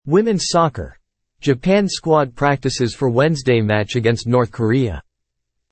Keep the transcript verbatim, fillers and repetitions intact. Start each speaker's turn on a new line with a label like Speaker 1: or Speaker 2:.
Speaker 1: Women's soccer. Japan squad practices for Wednesday match against North Korea.